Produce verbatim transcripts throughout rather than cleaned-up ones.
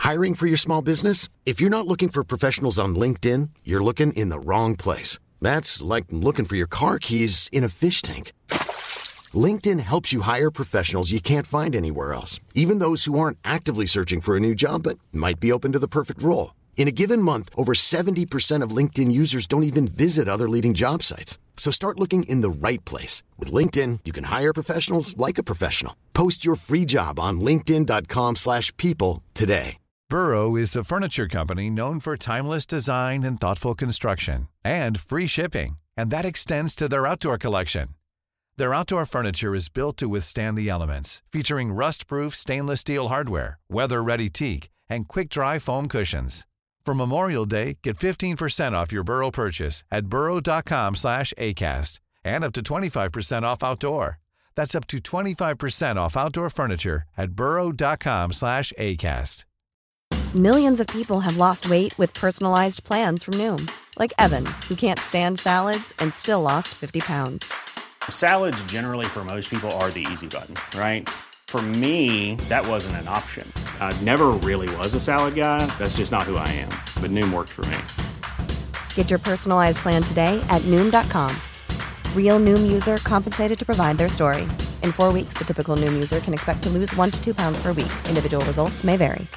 Hiring for your small business? If you're not looking for professionals on LinkedIn, you're looking in the wrong place. That's like looking for your car keys in a fish tank. LinkedIn helps you hire professionals you can't find anywhere else, even those who aren't actively searching for a new job but might be open to the perfect role. In a given month, over seventy percent of LinkedIn users don't even visit other leading job sites. So start looking in the right place. With LinkedIn, you can hire professionals like a professional. Post your free job on linkedin.com slash people today. Burrow is a furniture company known for timeless design and thoughtful construction, and free shipping, and that extends to their outdoor collection. Their outdoor furniture is built to withstand the elements, featuring rust-proof stainless steel hardware, weather-ready teak, and quick-dry foam cushions. For Memorial Day, get fifteen percent off your Burrow purchase at burrow.com slash ACAST and up to twenty-five percent off outdoor. That's up to twenty-five percent off outdoor furniture at burrow.com slash ACAST. Millions of people have lost weight with personalized plans from Noom. Like Evan, who can't stand salads and still lost fifty pounds. Salads generally for most people are the easy button, right? For me, that wasn't an option. I never really was a salad guy. That's just not who I am. But Noom worked for me. Get your personalized plan today at Noom dot com. Real Noom user compensated to provide their story. In four weeks, the typical Noom user can expect to lose one to two pounds per week. Individual results may vary.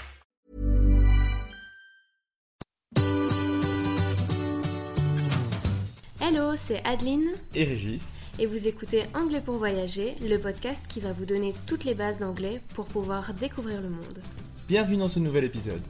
Hello, c'est Adeline et Régis. Et vous écoutez Anglais pour voyager, le podcast qui va vous donner toutes les bases d'anglais pour pouvoir découvrir le monde. Bienvenue dans ce nouvel épisode.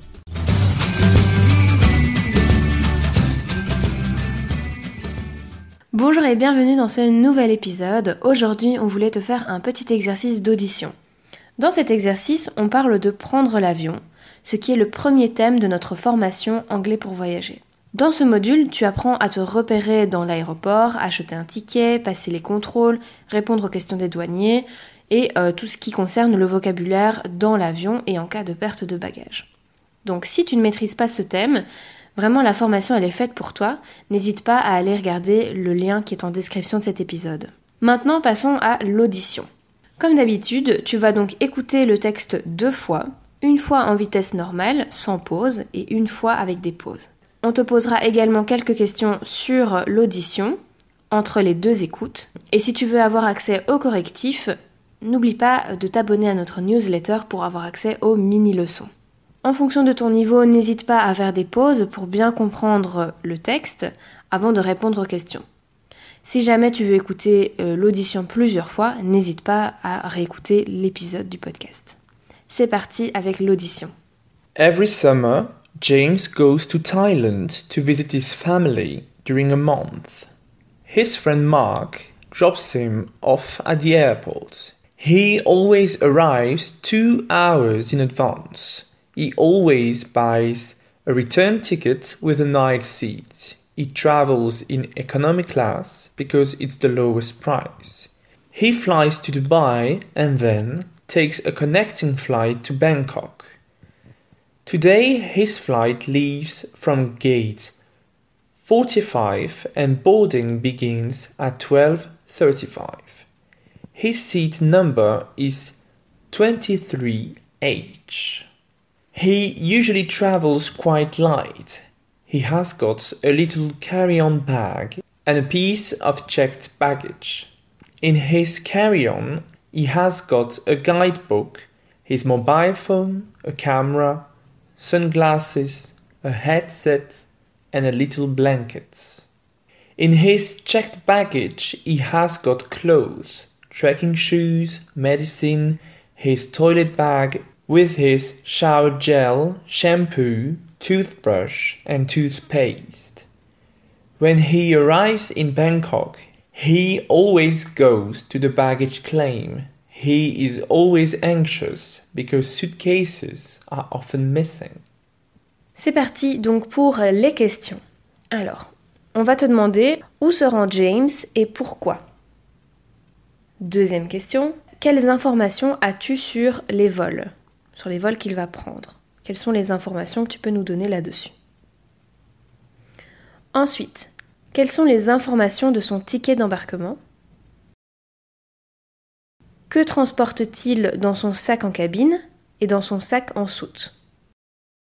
Bonjour et bienvenue dans ce nouvel épisode. Aujourd'hui, on voulait te faire un petit exercice d'audition. Dans cet exercice, on parle de prendre l'avion, ce qui est le premier thème de notre formation Anglais pour voyager. Dans ce module, tu apprends à te repérer dans l'aéroport, acheter un ticket, passer les contrôles, répondre aux questions des douaniers et euh, tout ce qui concerne le vocabulaire dans l'avion et en cas de perte de bagages. Donc si tu ne maîtrises pas ce thème, vraiment la formation elle est faite pour toi, n'hésite pas à aller regarder le lien qui est en description de cet épisode. Maintenant passons à l'audition. Comme d'habitude, tu vas donc écouter le texte deux fois, une fois en vitesse normale, sans pause, et une fois avec des pauses. On te posera également quelques questions sur l'audition, entre les deux écoutes. Et si tu veux avoir accès aux correctifs, n'oublie pas de t'abonner à notre newsletter pour avoir accès aux mini-leçons. En fonction de ton niveau, n'hésite pas à faire des pauses pour bien comprendre le texte avant de répondre aux questions. Si jamais tu veux écouter euh, l'audition plusieurs fois, n'hésite pas à réécouter l'épisode du podcast. C'est parti avec l'audition. Every summer, James goes to Thailand to visit his family during a month. His friend Mark drops him off at the airport. He always arrives two hours in advance. He always buys a return ticket with a night seat. He travels in economy class because it's the lowest price. He flies to Dubai and then takes a connecting flight to Bangkok. Today his flight leaves from gate forty-five and boarding begins at twelve thirty-five. His seat number is twenty-three H. He usually travels quite light. He has got a little carry-on bag and a piece of checked baggage. In his carry-on, he has got a guidebook, his mobile phone, a camera, sunglasses, a headset, and a little blanket. In his checked baggage, he has got clothes, trekking shoes, medicine, his toilet bag with his shower gel, shampoo, toothbrush, and toothpaste. When he arrives in Bangkok, he always goes to the baggage claim. He is always anxious because suitcases are often missing. C'est parti donc pour les questions. Alors, on va te demander où se rend James et pourquoi. Deuxième question, quelles informations as-tu sur les vols, sur les vols qu'il va prendre? Quelles sont les informations que tu peux nous donner là-dessus? Ensuite, quelles sont les informations de son ticket d'embarquement? Que transporte-t-il dans son sac en cabine et dans son sac en soute?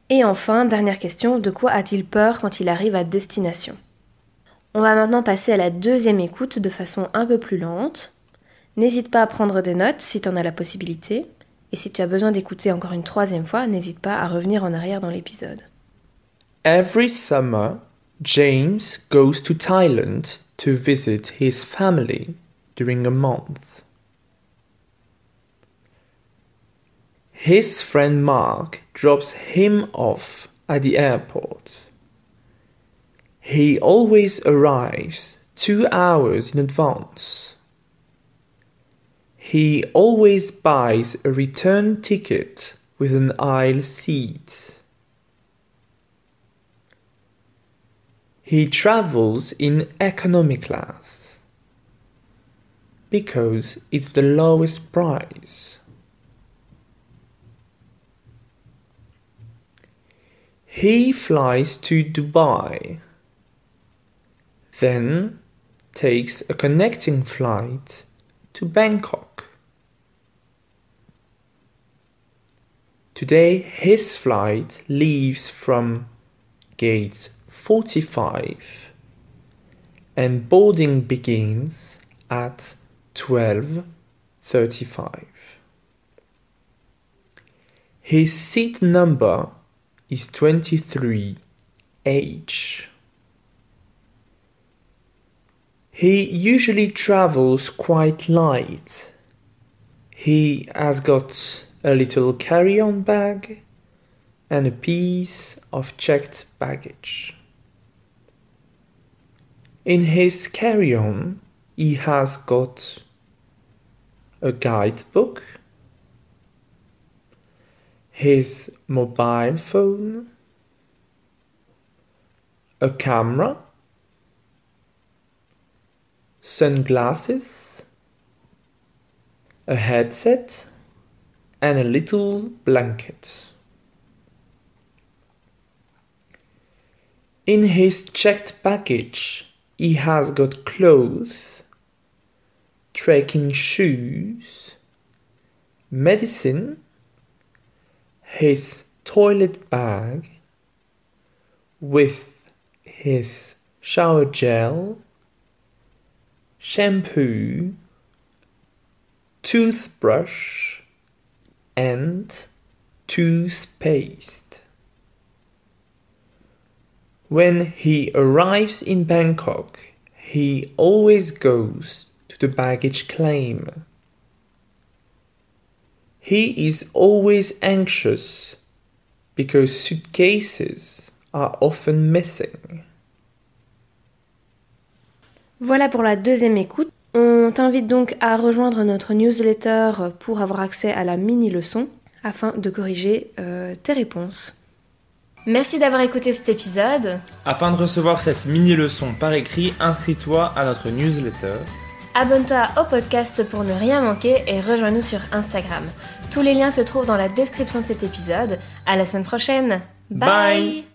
Et enfin, dernière question, de quoi a-t-il peur quand il arrive à destination ? On va maintenant passer à la deuxième écoute de façon un peu plus lente. N'hésite pas à prendre des notes si tu en as la possibilité. Et si tu as besoin d'écouter encore une troisième fois, n'hésite pas à revenir en arrière dans l'épisode. Every summer, James goes to Thailand to visit his family during a month. His friend Mark drops him off at the airport. He always arrives two hours in advance. He always buys a return ticket with an aisle seat. He travels in economy class because it's the lowest price. He flies to Dubai, then takes a connecting flight to Bangkok. Today his flight leaves from gate forty-five and boarding begins at twelve thirty-five. His seat number is twenty-three H. He usually travels quite light. He has got a little carry-on bag and a piece of checked baggage. In his carry-on, he has got a guidebook, his mobile phone, a camera, sunglasses, a headset, and a little blanket. In his checked baggage, he has got clothes, trekking shoes, medicine, his toilet bag with his shower gel, shampoo, toothbrush, and toothpaste. When he arrives in Bangkok, he always goes to the baggage claim. He is always anxious because suitcases are often missing. Voilà pour la deuxième écoute. On t'invite donc à rejoindre notre newsletter pour avoir accès à la mini-leçon afin de corriger euh, tes réponses. Merci d'avoir écouté cet épisode. Afin de recevoir cette mini-leçon par écrit, inscris-toi à notre newsletter. Abonne-toi au podcast pour ne rien manquer et rejoins-nous sur Instagram. Tous les liens se trouvent dans la description de cet épisode. À la semaine prochaine. Bye, Bye.